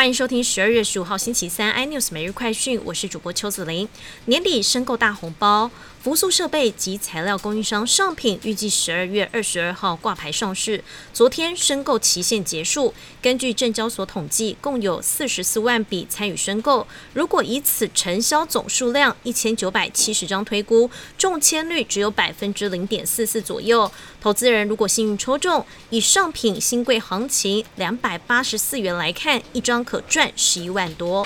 欢迎收听12月15号星期三 iNews 每日快讯，我是主播邱子玲。年底申购大红包，福塑设备及材料供应商上品预计12月22号挂牌上市。昨天申购期限结束，根据证交所统计，共有44万笔参与申购。如果以此成交总数量1970张推估，中签率只有 0.44% 左右。投资人如果幸运抽中，以上品新贵行情284元来看，一张可赚11万多。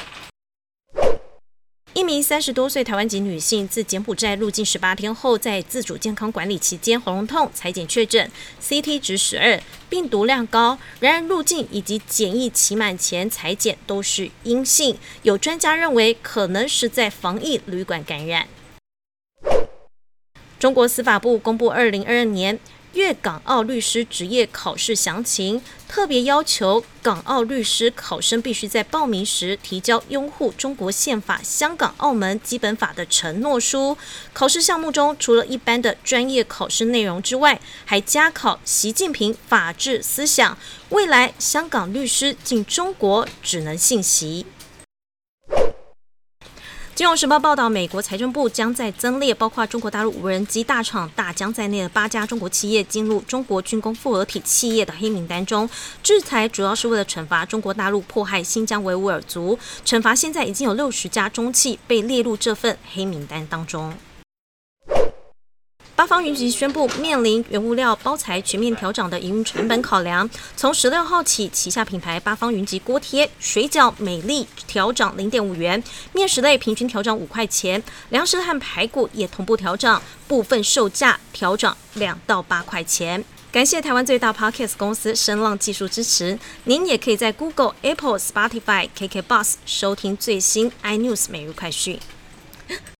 一名30多岁台湾籍女性自柬埔寨入境18天后，在自主健康管理期间喉咙痛，采检确诊 CT 值12，病毒量高。然而入境以及检疫期满前采检都是阴性，有专家认为可能是在防疫旅馆感染。中国司法部公布2022年粤港澳律师职业考试详情，特别要求港澳律师考生必须在报名时提交拥护中国宪法、香港、澳门基本法的承诺书。考试项目中，除了一般的专业考试内容之外，还加考习近平法治思想。未来香港律师进中国只能信习。金融时报报道，美国财政部将在增列包括中国大陆无人机大厂大疆在内的8家中国企业进入中国军工复合体企业的黑名单中。制裁主要是为了惩罚中国大陆迫害新疆维吾尔族，惩罚现在已经有60家中企被列入这份黑名单当中。八方云集宣布，面临原物料包材全面调涨的营运成本考量，从16号起，旗下品牌八方云集锅贴、水饺、美丽调涨 0.5 元，面食类平均调涨5块钱，粮食和排骨也同步调涨，部分售价调涨2到8块钱。感谢台湾最大 Podcast 公司声浪技术支持。您也可以在 Google、Apple、Spotify、KKBOX 收听最新 iNews 每日快讯。